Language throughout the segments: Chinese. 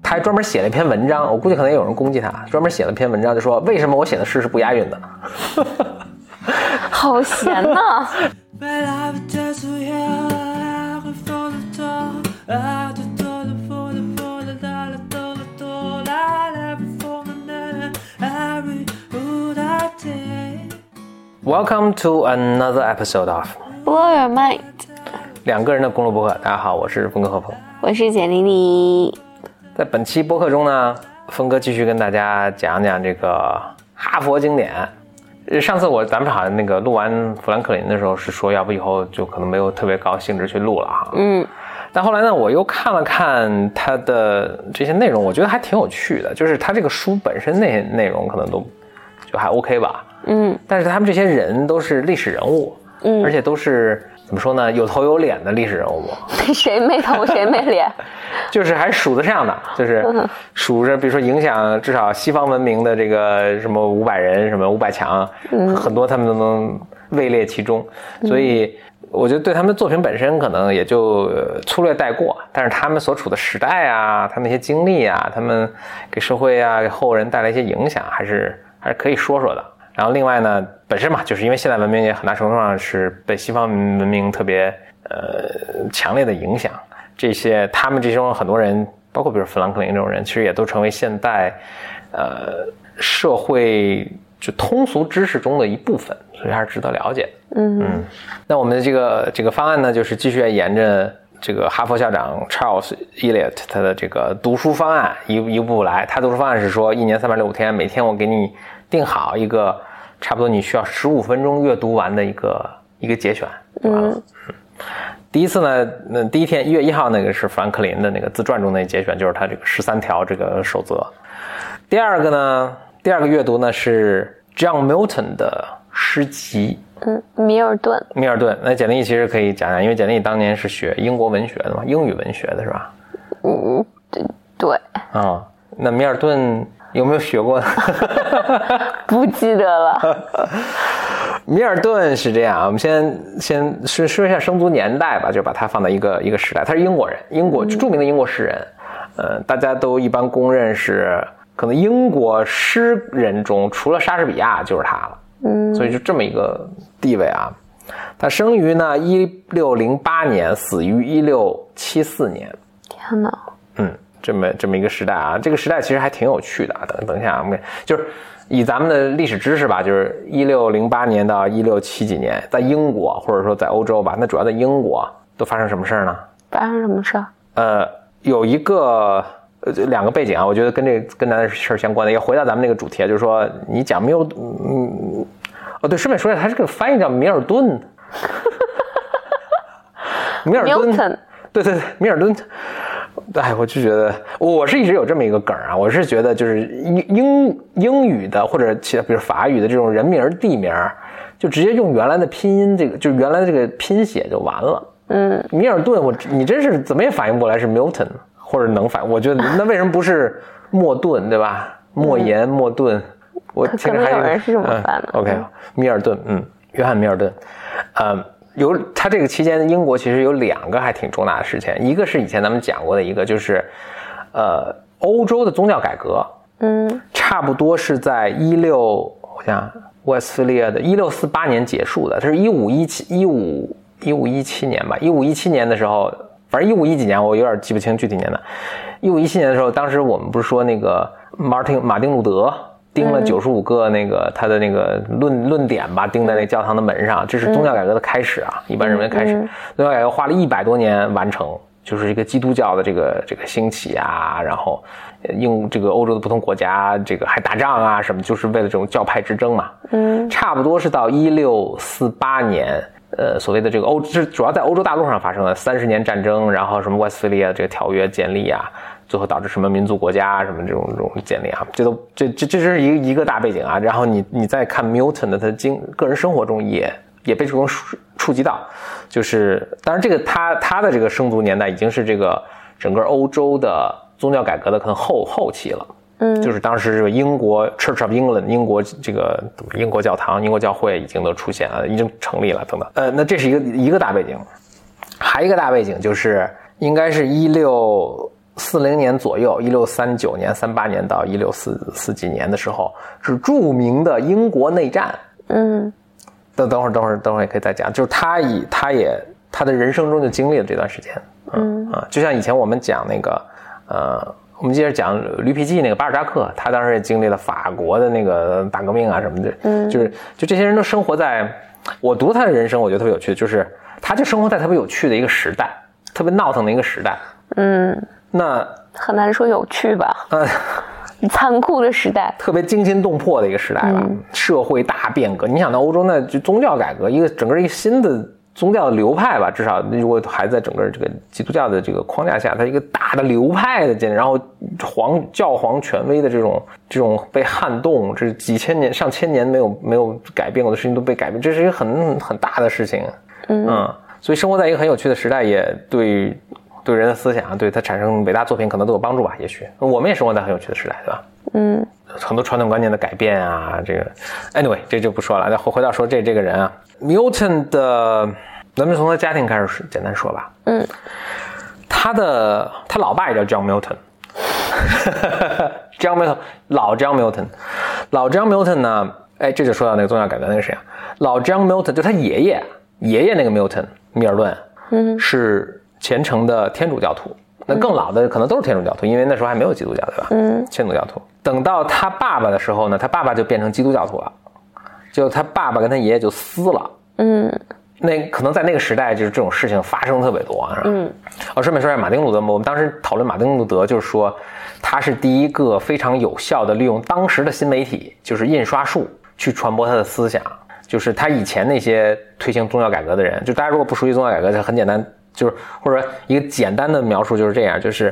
他还专门写了一篇文章，我估计可能有人攻击他，专门写了篇文章就说为什么我写的诗是不押韵的。 好闲呐。 Welcome to another episode of Blow Your Mind， 两个人的公路播客。大家好，我是峰哥何鹏， 我是简丽丽。 在本期播客中呢，峰哥继续跟大家讲讲这个哈佛经典。上次咱们好像那个录完富兰克林的时候是说，要不以后就可能没有特别高兴致去录了哈。但后来呢，我又看了看他的这些内容，我觉得还挺有趣的。就是他这个书本身那些内容可能都就还 OK 吧。但是他们这些人都是历史人物，而且都是怎么说呢，有头有脸的历史人物。 谁没头谁没脸？ 就是还数得上的，就是数着，比如说影响至少西方文明的这个什么500人，什么500强，很多他们都能位列其中。所以我觉得对他们的作品本身可能也就粗略带过，但是他们所处的时代啊，他们一些经历啊，他们给社会啊，给后人带来一些影响，还是可以说说的。然后另外呢，本身嘛，就是因为现代文明也很大程度上是被西方文明特别强烈的影响，这些他们这种很多人，包括比如富兰克林这种人，其实也都成为现代社会就通俗知识中的一部分，所以还是值得了解。那我们的这个方案呢，就是继续沿着这个哈佛校长 Charles Eliot 他的这个读书方案一步来。他读书方案是说，1年365天，每天我给你定好一个差不多你需要15分钟阅读完的一个节选。第一次呢，第一天1月1号那个是富兰克林的那个自传中的节选，就是他这个13条这个守则。第二个阅读呢是 John Milton 的诗集。 米尔顿。 那简历其实可以讲讲，因为简历当年是学英国文学的嘛，英语文学的是吧？ 对。 那米尔顿有没有学过？ 不记得了。 米尔顿是这样，我们先说一下生卒年代吧，就把它放在一个时代。他是英国人，著名的英国诗人。大家都一般公认是可能英国诗人中除了莎士比亚就是他了。所以就这么一个地位啊。他生于呢1608年，死于1674年。 天哪。 这么一个时代啊，这个时代其实还挺有趣的啊。等一下，我们就是以咱们的历史知识吧，就是1608年到1670几年，在英国或者说在欧洲吧，那主要在英国都发生什么事呢？ 发生什么事？ 有一个2个背景啊，我觉得跟咱的事相关的，也回到咱们那个主题啊，就是说你讲对，顺便说一下，他这个翻译叫米尔顿。米尔顿。对，米尔顿。我就觉得我是一直有这么一个梗啊，我是觉得就是英语的或者其他比如法语的这种人名地名，就直接用原来的拼音，这个就是原来的这个拼写就完了。米尔顿，你真是怎么也反应不过来是 Milton， 或者能反应，我觉得那为什么不是莫顿，对吧？莫言、莫顿，我可能有人是这么翻的。 OK， 米尔顿，约翰米尔顿，他这个期间英国其实有2个还挺重大的事情，一个是以前咱们讲过的一个，就是欧洲的宗教改革。差不多是在威斯特利亚的1648年结束的，这是1517年吧，1517年的时候，反正1510几年我有点记不清具体年的。1517年的时候，当时我们不是说那个马丁路德钉了95个那个他的那个论点吧，钉在那教堂的门上，这是宗教改革的开始啊，一般认为开始。宗教改革花了100多年完成，就是一个基督教的这个兴起啊，然后这个欧洲的不同国家这个还打仗啊什么，就是为了这种教派之争嘛。差不多是到1648年，所谓的这个这主要在欧洲大陆上发生的30年战争，然后什么威斯特利亚这个条约建立啊，最后导致什么民族国家什么这种建立啊，这是一个大背景啊。然后你再看 Milton 的他个人生活中也被这种触及到，就是当然这个他的这个生卒年代已经是这个整个欧洲的宗教改革的可能后期了。就是当时这个英国 Church of England 英国教堂、英国教会已经都出现了，已经成立了等等。那这是一个大背景，还有一个大背景就是应该是1648 1640年左右，1639年、38年到1644几年的时候，是著名的英国内战。等会儿也可以再讲，就是他的人生中就经历了这段时间。就像以前我们讲那个我们接着讲驴皮记那个巴尔扎克，他当时也经历了法国的那个大革命啊什么的。就这些人都生活在，我读他的人生，我觉得特别有趣，就是他就生活在特别有趣的一个时代，特别闹腾的一个时代。那很难说有趣吧。残酷的时代， 特别惊心动魄的一个时代吧。社会大变革，你想到欧洲那就宗教改革，整个一个新的宗教的流派吧，至少如果还在整个这个基督教的这个框架下，它一个大的流派的建立，然后教皇权威的这种被撼动，这几千年上千年没有改变过的事情都被改变，这是一个很大的事情。所以生活在一个很有趣的时代，也对人的思想，对它产生伟大作品可能都有帮助吧。也许我们也生活在很有趣的时代，对吧？很多传统观念的改变啊，这个 anyway 这就不说了。回到说这个人啊 ，Milton 的，咱们从他家庭开始简单说吧。他老爸也叫 John Milton。John Milton， 老 John Milton 呢？哎，这就说到那个宗教改革那个谁啊？老 John Milton 就他爷爷那个 Milton 米尔顿，是虔诚的天主教徒。那更老的可能都是天主教徒，因为那时候还没有基督教，对吧？天主教徒。等到他爸爸的时候呢，他爸爸就变成基督教徒了，就他爸爸跟他爷爷就撕了。那可能在那个时代，就是这种事情发生特别多啊。顺便说一下马丁路德，我们当时讨论马丁路德，就是说他是第一个非常有效的利用当时的新媒体，就是印刷术去传播他的思想。就是他以前那些推行宗教改革的人，就大家如果不熟悉宗教改革，就很简单，就是或者一个简单的描述就是这样，就是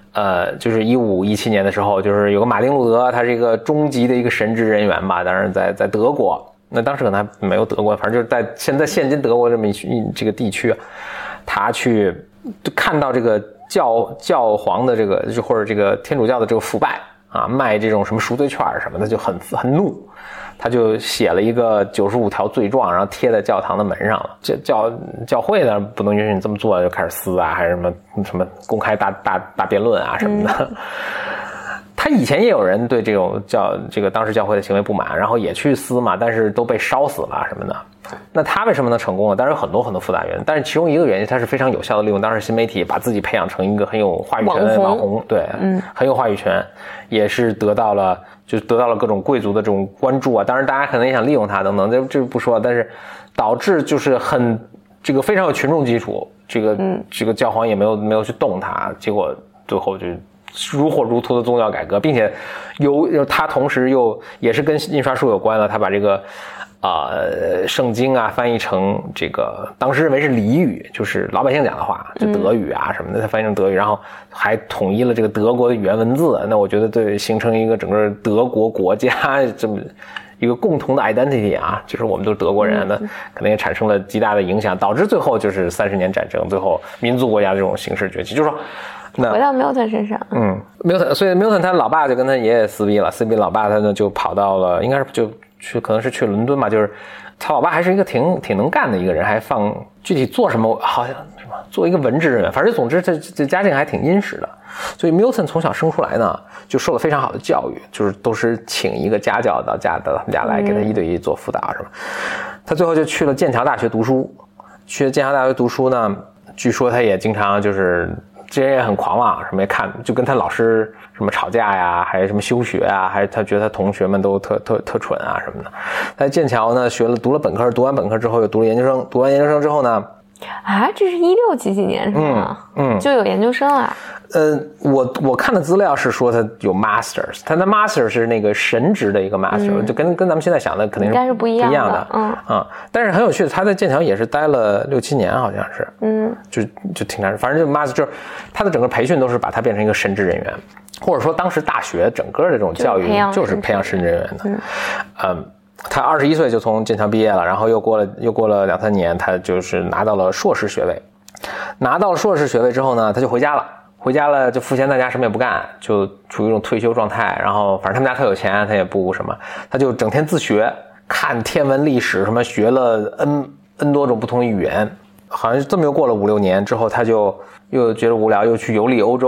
1517年的时候，就是有个马丁路德，他是一个中级的一个神职人员吧，当然在德国，那当时可能还没有德国，反正就是在现今德国这么这个地区，他去看到这个教皇的这个或者这个天主教的这个腐败啊，卖这种什么赎罪券什么的，就很怒。他就写了一个95条罪状，然后贴在教堂的门上了。教会呢不能允许你这么做，就开始撕啊，还是什么公开大辩论啊什么的。他以前也有人对这个当时教会的行为不满，然后也去撕嘛，但是都被烧死了什么的。那他为什么能成功呢？当然有很多复杂原因，但是其中一个原因，他是非常有效的利用当时新媒体，把自己培养成一个很有话语权的网红，对，很有话语权，也是得到了各种贵族的这种关注啊。当然，大家可能也想利用他等等，这不说，但是导致就是这个非常有群众基础，这个教皇也没有去动他，结果最后就如火如荼的宗教改革，并且他同时也是跟印刷术有关了，他把这个圣经啊翻译成这个当时认为是俚语，就是老百姓讲的话，就德语啊什么的，他翻译成德语，然后还统一了这个德国的语言文字。那我觉得对形成一个整个德国国家这么一个共同的 identity 啊，就是我们都是德国人，那可能也产生了极大的影响，导致最后就是30年战争，最后民族国家这种形式崛起。就是说回到 Milton 身上 ，Milton， 所以 Milton 他老爸就跟他爷爷撕逼了，老爸他呢就跑到了，应该是可能是去伦敦吧，就是他老爸还是一个挺能干的一个人，还具体做什么好像什么做一个文职人员，反正总之这家境还挺殷实的。所以 Milton 从小生出来呢就受了非常好的教育，就是都是请一个家教到他们家来给他1对1做辅导什么。他最后就去了剑桥大学读书，呢据说他也经常就是这人也很狂妄，什么也看，就跟他老师什么吵架呀，还是什么休学啊，还是他觉得他同学们都特蠢啊什么的。在剑桥呢读了本科，读完本科之后又读了研究生，读完研究生之后呢， 这是16几年是吗？就有研究生啊。 我看的资料是说他有 masters， 他的 master 是那个神职的一个 master，就跟咱们现在想的肯定是不一样的。但是很有趣的，他在剑桥也是待了6、7年，好像是，就挺难，反正就 master 就是他的整个培训都是把他变成一个神职人员，或者说当时大学整个的这种教育就是培养神职人员的。他21岁就从剑桥毕业了，然后又过了2、3年，他就是拿到了硕士学位。拿到了硕士学位之后呢，他就回家了，就赋闲在家，什么也不干，就处于一种退休状态。然后反正他们家特有钱，他也不什么，他就整天自学，看天文历史什么，学了 N 多种不同语言。好像这么又过了5、6年之后，他就又觉得无聊，又去游历欧洲。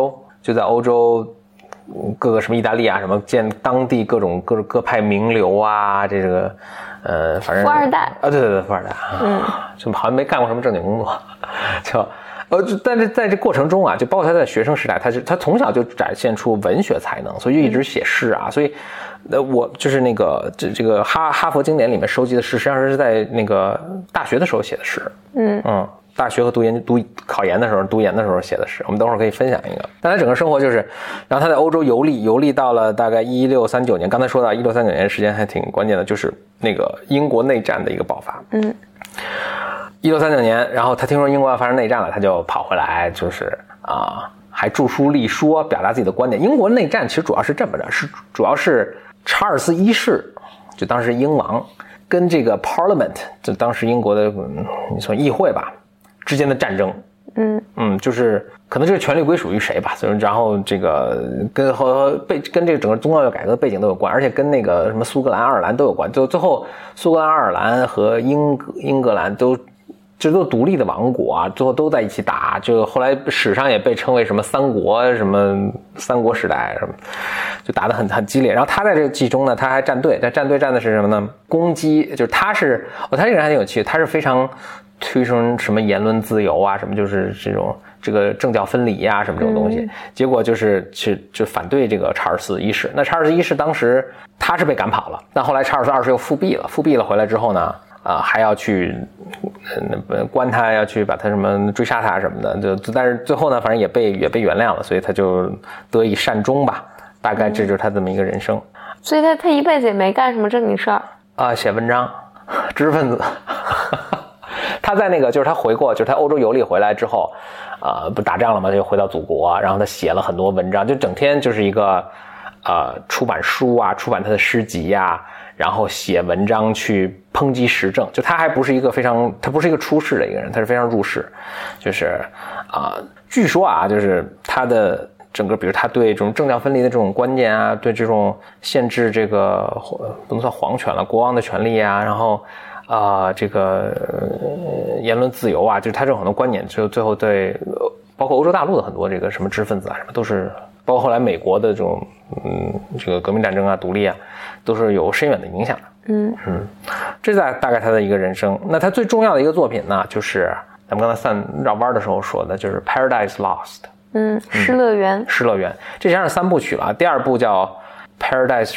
就在欧洲各个什么意大利啊什么见当地各种各派名流啊，这个反正富二代啊，对，富二代，就好像没干过什么正经工作，但是在这过程中啊，就包括他在学生时代，他从小就展现出文学才能，所以就一直写诗啊，所以我就是那个这个哈佛经典里面收集的诗，实际上是在那个大学的时候写的诗，大学和考研的时候读研的时候写的诗，我们等会儿可以分享一个。但他整个生活就是，然后他在欧洲游历到了大概1639年，刚才说到1639年时间还挺关键的，就是那个英国内战的一个爆发。1639年，然后他听说英国要发生内战了，他就跑回来，就是还著书立说，表达自己的观点。英国内战其实主要是这么着，主要是查尔斯一世，就当时英王跟这个 Parliament， 就当时英国的你说议会吧之间的战争。就是可能这个权力归属于谁吧，然后这个跟这个整个宗教改革的背景都有关，而且跟那个什么苏格兰、爱尔兰都有关。最后苏格兰、爱尔兰和英格兰都独立的王国啊，最后都在一起打，就后来史上也被称为什么三国时代什么，就打得很激烈。然后他在这个其中呢，他还站队，站的是什么呢？攻击，就是他这个人还挺有趣，他是非常推崇什么言论自由啊，什么就是这个政教分离啊，什么这种东西。结果就是就反对这个查尔斯一世。那查尔斯一世当时他是被赶跑了，但后来查尔斯二世又复辟了回来之后呢，还要去关他，要去把他什么追杀他什么的，但是最后呢，反正也被原谅了，所以他就得以善终吧。大概这就是他这么一个人生。 所以他一辈子也没干什么正经事儿写文章，知识分子。他在那个就是他回过，就是他欧洲游历回来之后，不打仗了嘛，就回到祖国，然后他写了很多文章，就整天就是一个出版书啊，出版他的诗集啊，然后写文章去抨击时政。就他不是一个出世的一个人，他是非常入世，就是据说啊，就是他的整个，比如他对这种政教分离的这种观念啊，对这种限制这个不能算皇权了，国王的权利啊，然后这个言论自由啊，就是他这种很多观点，就最后对包括欧洲大陆的很多这个什么知识分子啊，什么都是，包括后来美国的这种这个革命战争啊、独立啊，都是有深远的影响的。这是大概他的一个人生。那他最重要的一个作品呢，就是咱们刚才绕弯的时候说的，就是 Paradise Lost。 失乐园。 失乐园，这实际上是3部曲了。第2部叫 Paradise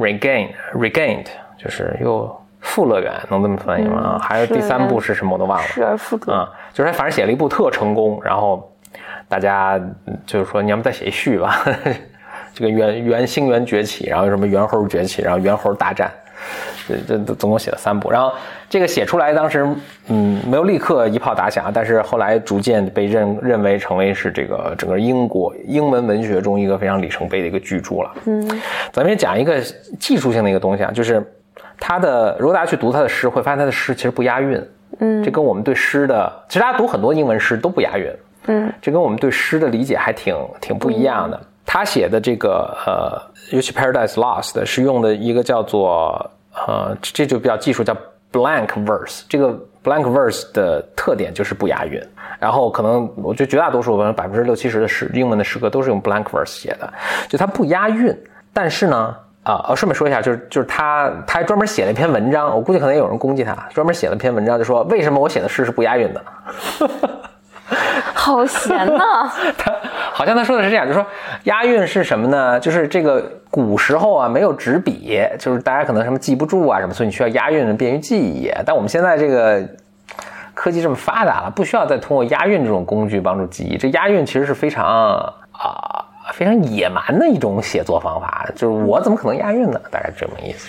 Regained， 就是又复乐园，能这么翻译吗？还有第3部是什么我都忘了。 失而复得。 就是他反正写了一部特成功，然后大家就是说你要不再写一续吧。这个星源崛起，然后什么猿猴崛起，然后猿猴大战，这总共写了3部。然后这个写出来当时没有立刻一炮打响，但是后来逐渐被认为成为是这个整个英文文学中一个非常里程碑的一个巨著了。咱们也讲一个技术性的一个东西啊，就是如果大家去读他的诗，会发现他的诗其实不押韵。这跟我们对诗的，其实大家读很多英文诗都不押韵。这跟我们对诗的理解还挺不一样的。他写的这个尤其 Paradise Lost 是用的一个叫做这就比较技术叫 blank verse。这个 blank verse 的特点就是不押韵，然后可能我觉得绝大多数60-70%的英文的诗歌都是用 blank verse 写的，就它不押韵。但是呢顺便说一下，就是他还专门写了一篇文章，我估计可能也有人攻击他，专门写了篇文章，就说为什么我写的诗是不押韵的。 好闲呐！ 好像他说的是这样，就是说押韵是什么呢？就是这个古时候啊没有纸笔，就是大家可能什么记不住啊什么，所以你需要押韵便于记忆。但我们现在这个科技这么发达了，不需要再通过押韵这种工具帮助记忆。这押韵其实是非常野蛮的一种写作方法，就是我怎么可能押韵呢？大概这么意思。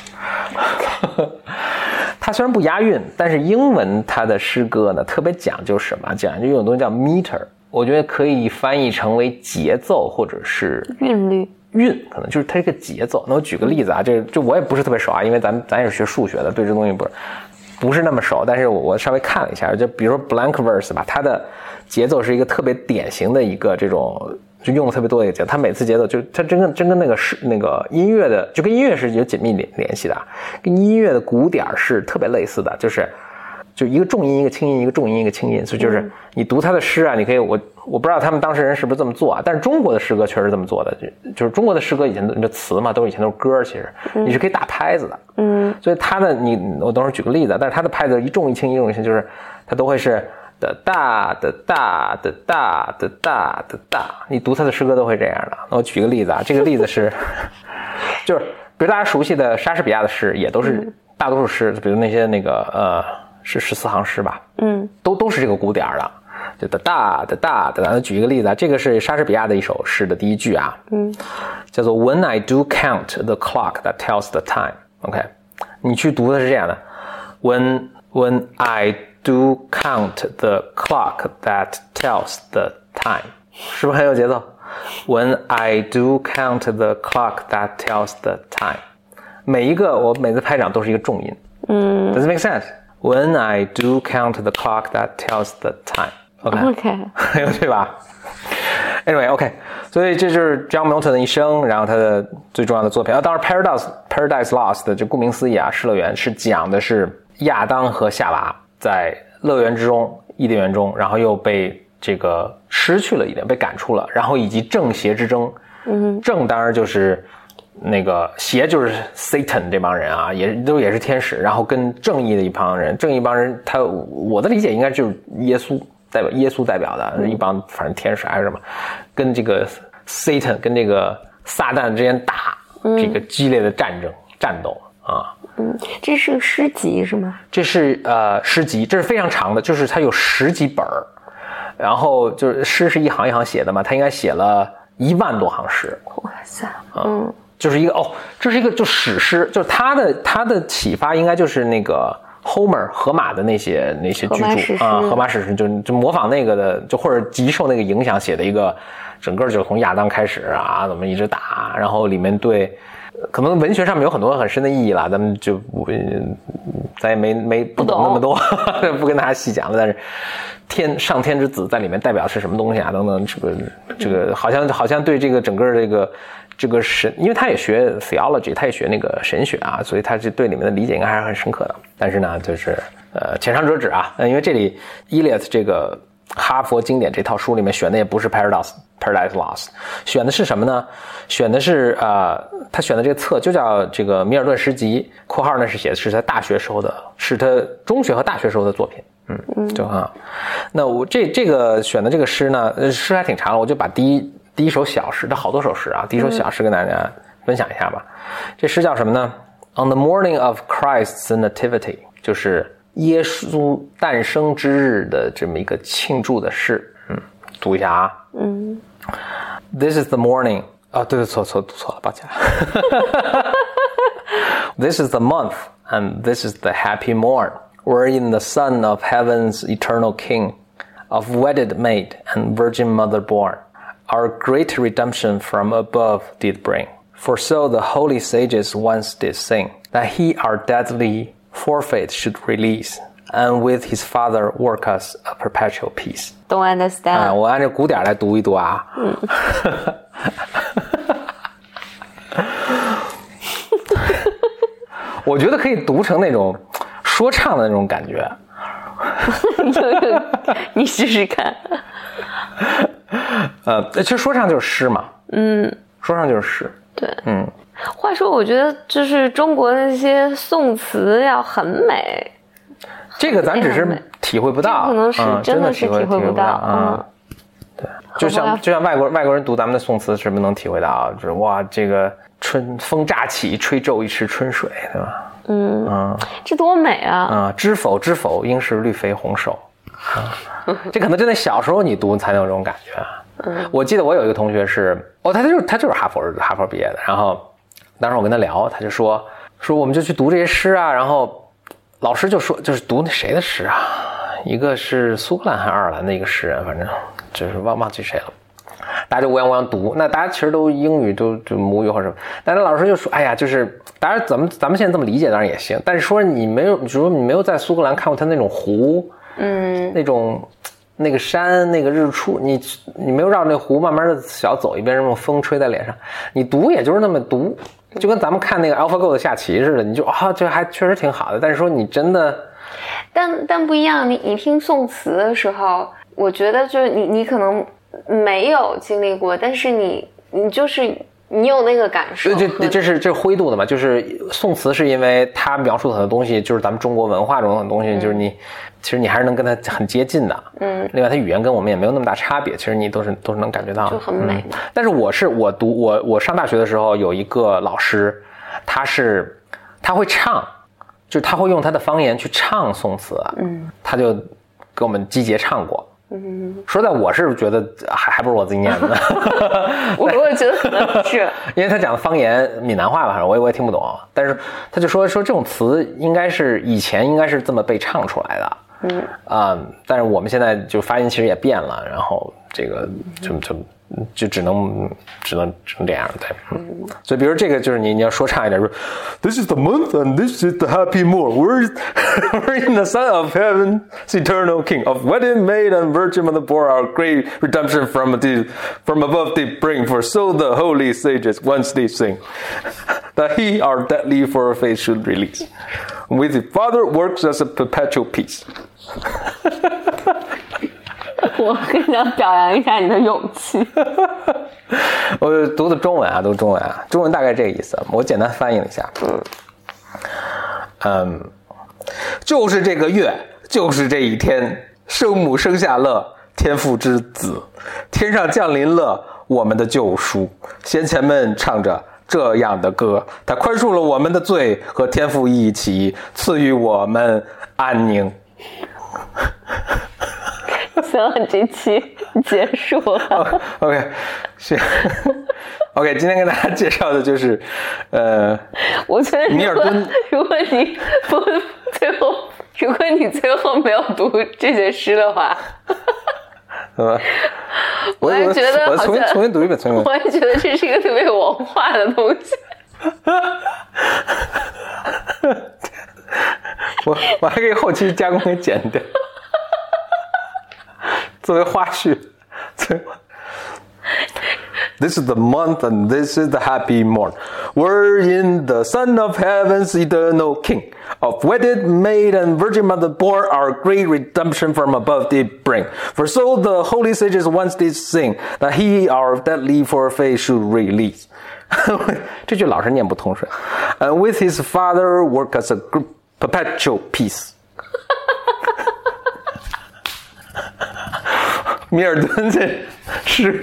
它虽然不押韵，但是英文它的诗歌呢特别讲究什么？讲究有种东西叫 meter， 我觉得可以翻译成为节奏或者是韵律。 可能就是它这个节奏。那我举个例子啊，这我也不是特别熟啊，因为咱也是学数学的，对这东西不是那么熟，但是我稍微看了一下，就比如说 blank verse 吧，它的节奏是一个特别典型的一个这种。就用的特别多的一个节奏，它每次节奏就是它真跟那个音乐的，就跟音乐是有紧密联系的，跟音乐的鼓点是特别类似的，就是就一个重音一个轻音，一个重音一个轻音，所以就是你读他的诗啊，你可以我不知道他们当事人是不是这么做啊，但是中国的诗歌确实这么做的，就是中国的诗歌以前的词嘛，以前都是歌，其实你是可以打拍子的，所以他的我等会儿举个例子，但是他的拍子一重一轻一重一轻，就是它都会是的大的大的大的大的大，你读他的诗歌都会这样的。我举个例子啊，这个例子是就是比如大家熟悉的莎士比亚的诗也都是大多数诗，比如那些是14行诗吧，都是这个鼓点的，就的大的大的大。举一个例子啊，这个是莎士比亚的一首诗的第一句啊，叫做 When I do count the clock that tells the time。OK， 你去读的是这样的 ，When I do count the clock that tells the time， 是不是很有节奏 ？When I do count the clock that tells the time， 我每次拍掌都是一个重音。Does it make sense？When I do count the clock that tells the time. OK， 很有趣吧 ？Anyway， OK， 所以这就是 John Milton 的一生，然后他的最重要的作品。当然 Paradise Lost 的就顾名思义啊，失乐园是讲的是亚当和夏娃在乐园之中、伊甸园中，然后又被这个失去了伊甸，被赶出了，然后以及正邪之争。正当然就是那个邪就是 Satan 这帮人啊，也是天使，然后跟正义的一帮人，正义一帮人，我的理解应该就是耶稣代表的一帮反正天使还是什么，跟这个 Satan 跟这个撒旦之间打这个激烈的战斗啊。 这是个诗集是吗？ 这是诗集，这是非常长的，就是它有10几本，然后就是诗是一行一行写的嘛，他应该写了1万多行诗。 哇塞， 就是一个这是一个就史诗，就是他的启发应该就是那个 Homer 荷马的那些巨著啊，荷马史诗就模仿那个的，就或者极受那个影响写的一个，整个就从亚当开始啊，怎么一直打，然后里面对可能文学上面有很多很深的意义啦，咱们就咱也没不懂那么多，不跟大家细讲了，但是上天之子在里面代表是什么东西啊？等等，这个好像对这个整个这个神，因为他也学 theology， 他也学那个神学啊，所以他对里面的理解应该还是很深刻的。但是呢，就是浅尝辄止啊，因为这里 Eliot 这个哈佛经典这套书里面选的也不是 Paradise Lost， 选的是什么呢？选的是他选的这个册就叫这个米尔顿诗集，括号呢是写的是他大学时候的，是他中学和大学时候的作品。就很好。那我这个选的这个诗呢，诗还挺长的，我就把第一首小诗，它好多首诗啊，第一首小诗跟大家分享一下吧。这诗叫什么呢 ？On the morning of Christ's nativity， 就是耶稣诞生之日的这么一个庆祝的诗。读一下啊。This is the morning。对，读错了，抱歉。This is the month, and this is the happy morn.Wherein the Son of Heaven's eternal King, of wedded maid and virgin mother born, our great redemption from above did bring. For so the holy sages once did sing, that he our deadly forfeit should release, and with his Father work us a perpetual peace. Don't understand. 我按照鼓点来读一读啊。我觉得可以读成那种说唱的那种感觉。 你试试看。 其实说唱就是诗嘛。说唱就是诗。 对。话说，我觉得就是中国那些宋词要很美。 这个咱只是体会不到， 可能是真的是体会不到。 对，就像外国人读咱们的宋词，是不是能体会到？就是哇，这个春风乍起，吹皱一池春水，对吧？ 这多美啊！ 知否知否，应是绿肥红瘦。这可能真的小时候你读才能有这种感觉。我记得我有一个同学是，他就是哈佛毕业的，然后当时我跟他聊，他就说我们就去读这些诗啊，然后老师就说就是读那谁的诗啊，一个是苏格兰还是爱尔兰的一个诗人，反正就是忘记谁了。大家就乌泱读，那大家其实都英语就母语或者什么，但是老师就说，哎呀，就是当然咱们现在这么理解当然也行，但是说你没有在苏格兰看过他那种湖，那个山那个日出，你没有绕那湖慢慢的小走一遍，让风吹在脸上，你读也就是那么读，就跟咱们看那个 AlphaGo 的下棋似的，你就这还确实挺好的，但是说你真的但不一样，你听宋词的时候，我觉得就是你可能没有经历过，但是你就是你有那个感受。 这是灰度的嘛？就是宋词是因为它描述很多东西，就是咱们中国文化中的东西，就是其实你还是能跟它很接近的。另外它语言跟我们也没有那么大差别，其实你都是能感觉到的， 就很美嘛。 但是我上大学的时候有一个老师，他会唱。就是他会用他的方言去唱宋词，他就给我们集结唱过。说在我是觉得还不如我自己念的。 我觉得可能是因为他讲的方言闽南话吧，我也听不懂，但是他就说这种词以前应该是这么被唱出来的。但是我们现在就发音其实也变了，然后这个就只能这样，对。所以比如这个就是你要说唱一点，说 This is the month and this is the happy moon. We're in the Son of Heaven's eternal King. Of wedded maid and virgin mother bore our great redemption from above they bring. For so the holy sages once they sing that he our deadly for our faith should release. With the Father works as a perpetual peace. 我很想表扬一下你的勇气。 我读的中文啊，中文大概这个意思，我简单翻译了一下。就是这个月，就是这一天，圣母生下了天父之子，天上降临了我们的救赎。先前们唱着这样的歌，他宽恕了我们的罪，和天父一起赐予我们安宁。 行了，这期结束了。 OK， 行。OK， 今天跟大家介绍的就是， 我觉得米尔顿。 如果你最后没有读这些诗的话，我也觉得我重新读一遍， 我也觉得这是一个特别有文化的东西。 我还可以后期加工给剪掉。作为花絮。This is the month and this is the happy morn. We're in the Son of Heaven's eternal King. Of wedded maid and virgin mother bore our great redemption from above did bring. For so the holy sages once did sing, that he our deadly for faith should release. 这句老是念不通顺。And with his Father work as a perpetual peace. 米尔顿这是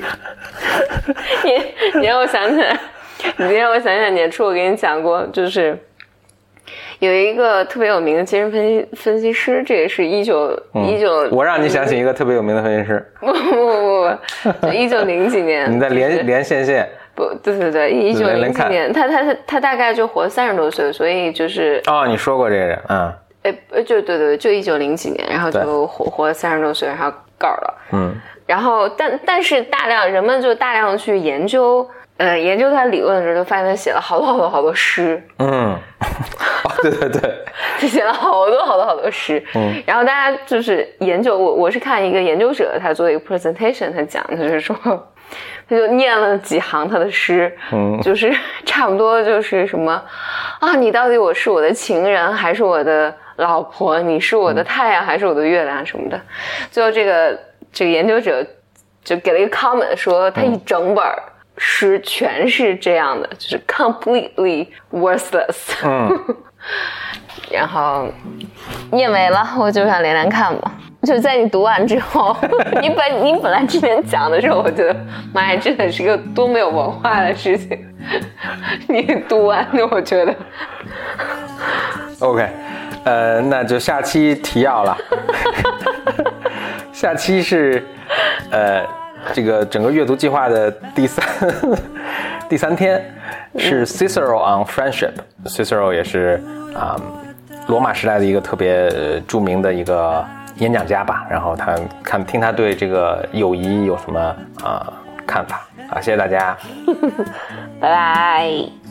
你让我想起来，年初我给你讲过，就是有一个特别有名的精神分析师，这也是19 我让你想起一个特别有名的分析师。 不，1900几年。 你在连线。 不，对，1900几年，他大概就活30多岁，所以就是你说过这个人， 就对，就1900几年，然后就活了30多岁，然后告了，然后但是人们就大量的去研究他理论的时候，就发现他写了好多诗， 对， 他写了好多诗，然后大家就是研究，我是看一个研究者他做一个 presentation， 他讲的就是说。他就念了几行他的诗，就是差不多就是什么你到底我是我的情人还是我的老婆？你是我的太阳还是我的月亮什么的？最后这个研究者就给了一个 comment 说，他一整本诗全是这样的，就是 completely worthless。然后念没了，我就想连看吧。就在你读完之后，你本来之前讲的时候，我觉得妈呀，真的是个多没有文化的事情。你读完的，我觉得。 OK， 那就下期提要了。下期是这个整个阅读计划的第三天，是 Cicero on Friendship。Cicero 也是罗马时代的一个特别著名的一个演讲家吧，然后听他对这个友谊有什么看法啊？谢谢大家， 拜拜。